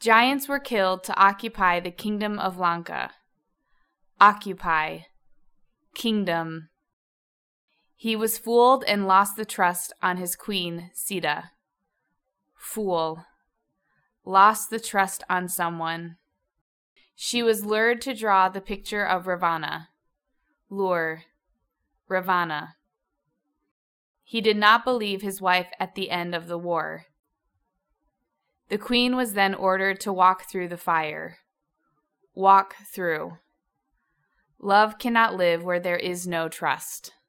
Giants were killed to occupy the kingdom of Lanka. Occupy. Kingdom. He was fooled and lost the trust on his queen, Sita. Fool. Lost the trust on someone. She was lured to draw the picture of Ravana. Lure. Ravana. He did not believe his wife at the end of the war. The queen was then ordered to walk through the fire. Walk through. Love cannot live where there is no trust.